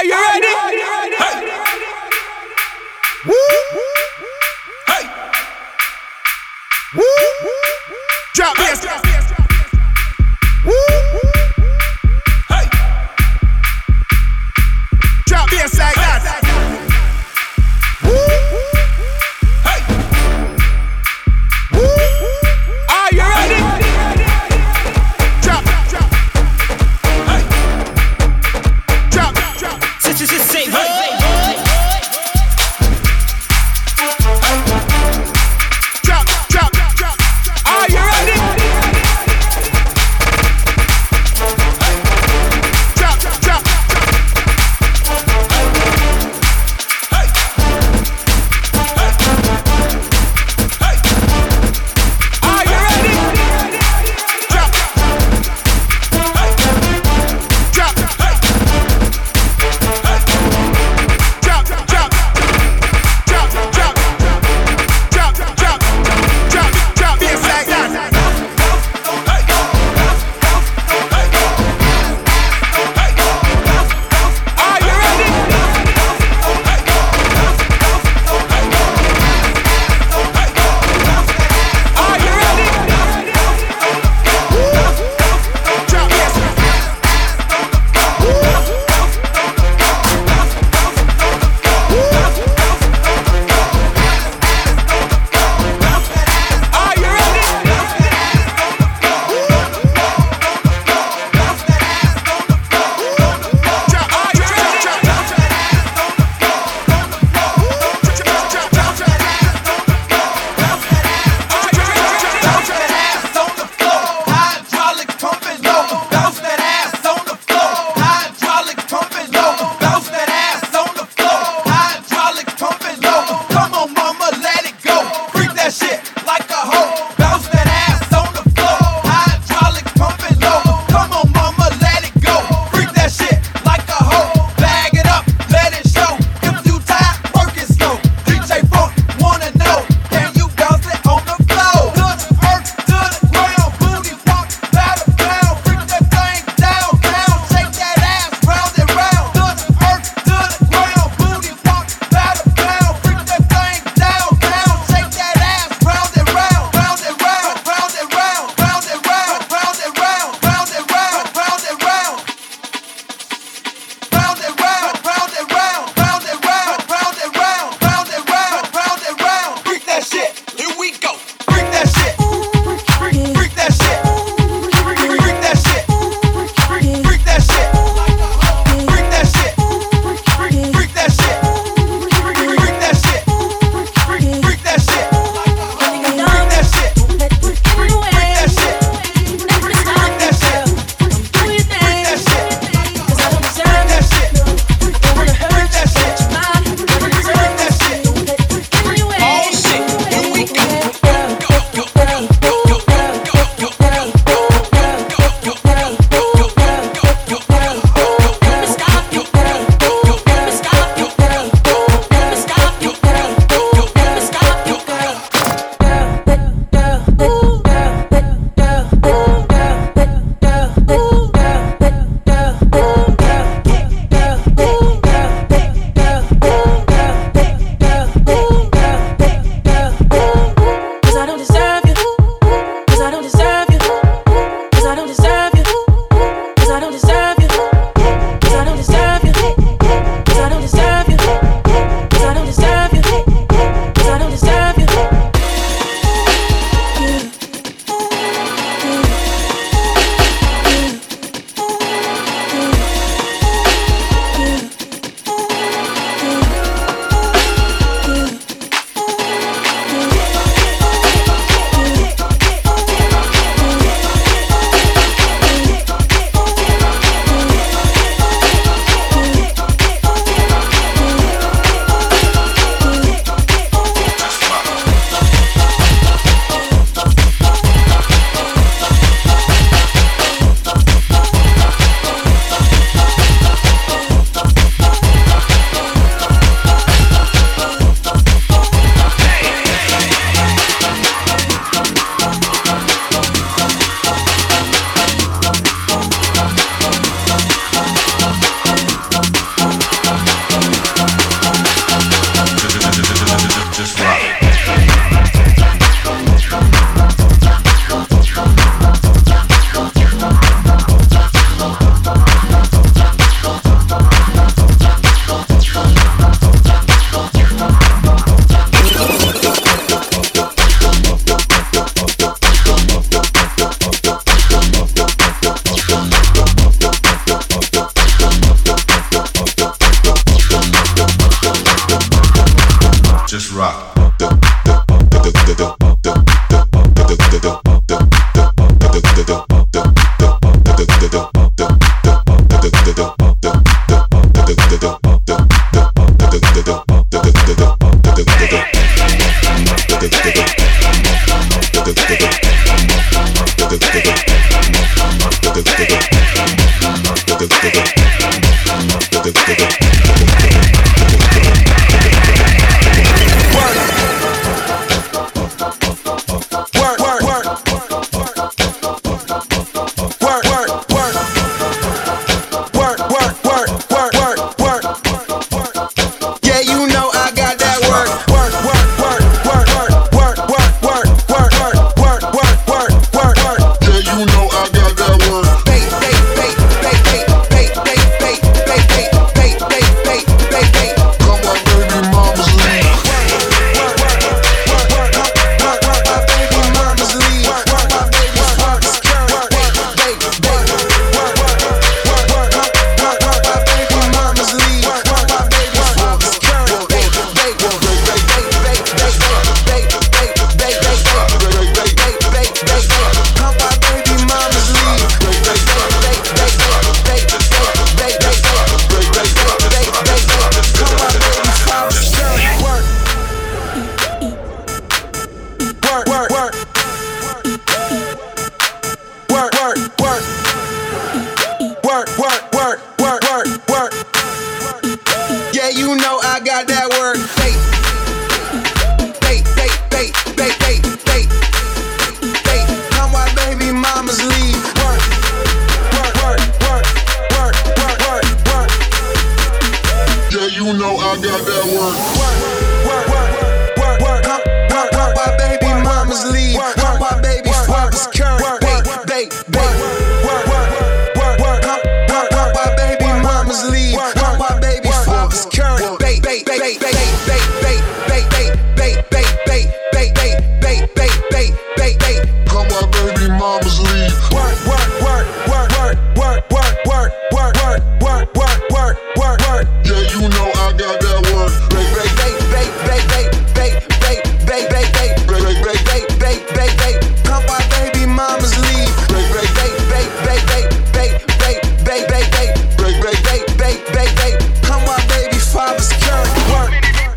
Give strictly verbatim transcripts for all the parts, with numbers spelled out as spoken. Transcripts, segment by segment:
you ready? Hey. Woo. Hey. Woo. Drop this. Woo. Hey. Drop this like that. Woo. Hey. Woo. Are you ready? Drop, drop. Hey. Drop, drop. Such as a say, hey. Drop, drop, drop. Are you ready? Drop, drop. Hey. Hey. Hey. Are you ready? Drop. Hey. Drop. Hey. Hey. Come on, baby, father's current work.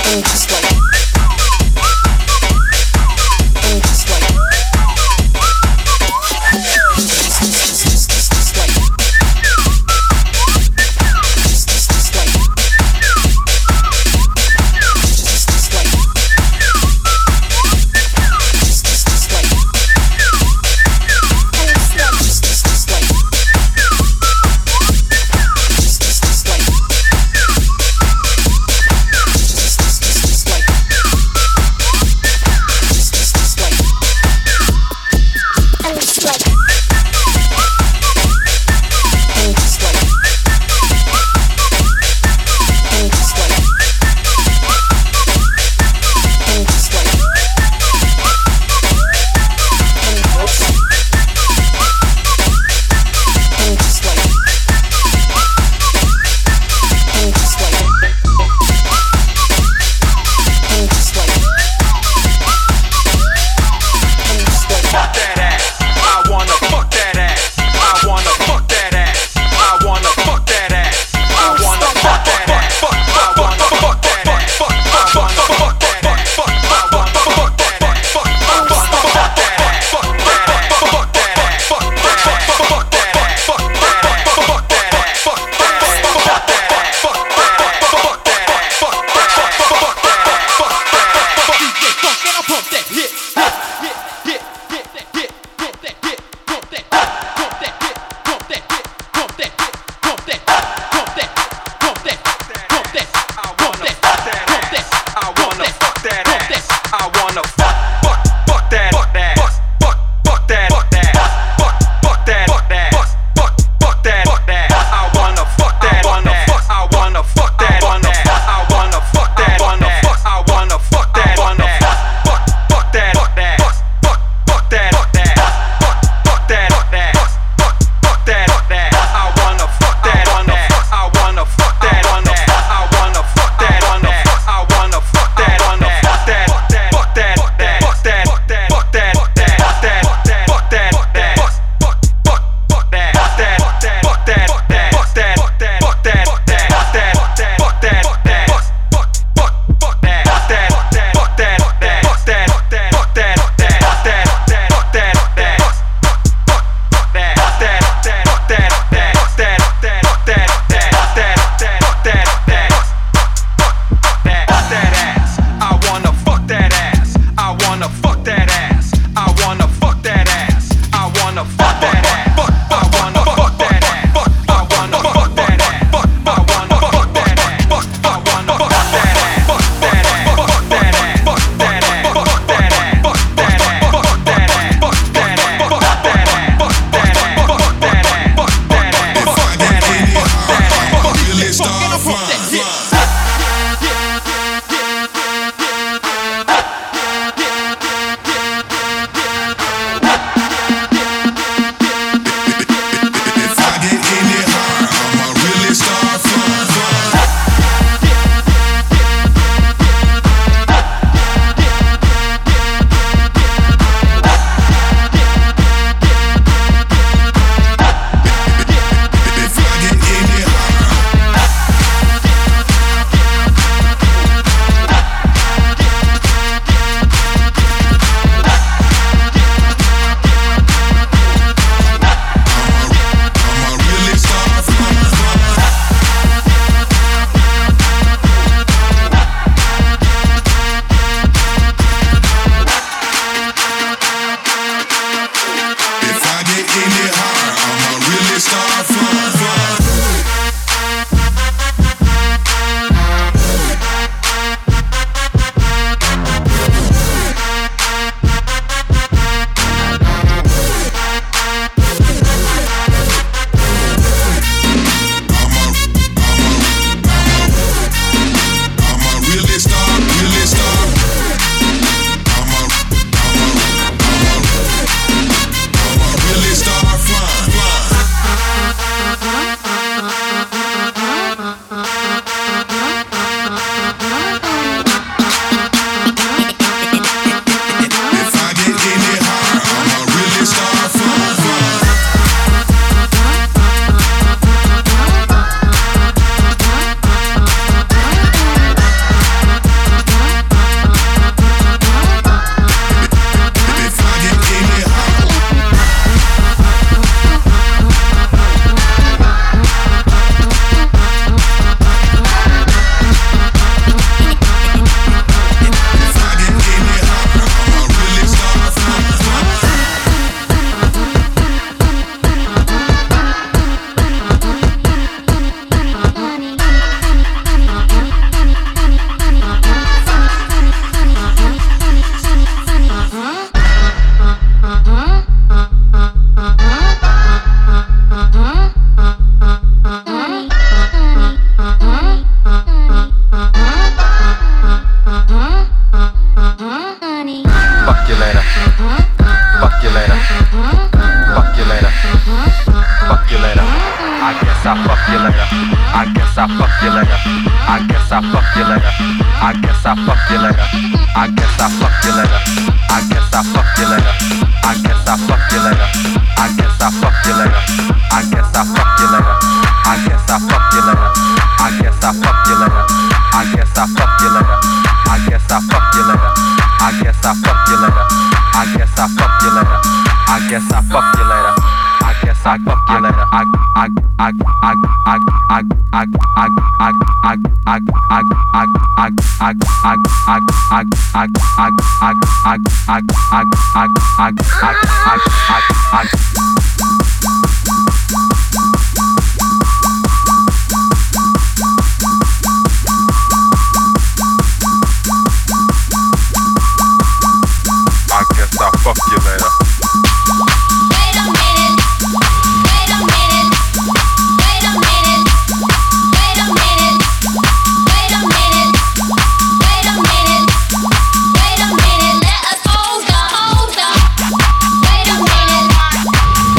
Just I guess I fuck you later. I guess I fuck you later. I guess I fuck you later. I guess I fuck you later. I guess I fuck you later. I guess I fuck you later. I guess I fuck you later. I guess I fuck you later. I guess I fuck you later. I guess I fuck you later. I guess I fuck you later. I guess I fuck you later. I guess I fuck you later. I guess I fuck you later. I I I I I I I I I I I I I I I I I I I guess I'll fuck you later. Wait a minute. Wait a minute. Wait a minute. Wait a minute. Wait a minute. Wait a minute. Wait a minute. Let us hold up, hold up. Wait a minute.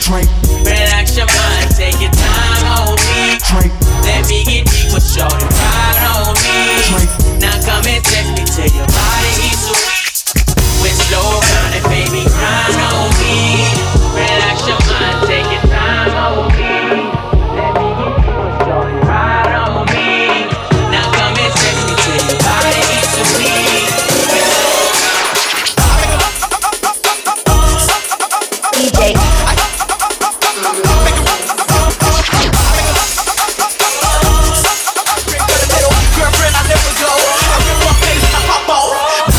Drink. Relax your mind, take your time on me. Drink. Let me get deep with shorty, ride on me. Drink. Now come and text me till your body is sweet. With slow running, baby, grind on me. Relax your mind, take your time on me. Let me get deep with shorty, ride on me. Now come and text me till your body is sweet. D J. Girlfriend, I never go. I rip off face and I pop off.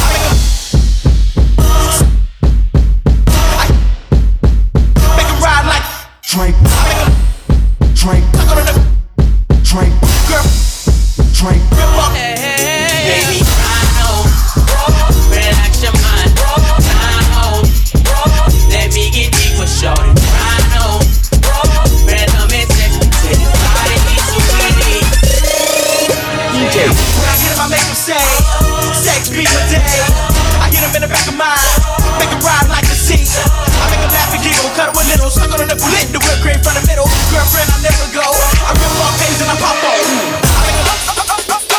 Make 'em ride like Drink. Drink. Drink. Girl, Drink. rip up. Baby, ride on. Relax your mind. Time on. Let me get deep with shorty. Ride on. Man, come and text me till your body is sweet. D J. When I get him, I make him say, sex be my day. I hit him in the back of mine, make him ride like a sea. I make him laugh and giggle, cut him a little, suck on the nipple, lit the whip cream from the middle. Girlfriend, I never go. I rip off face and I pop off.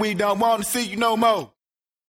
we don't want to see you no more.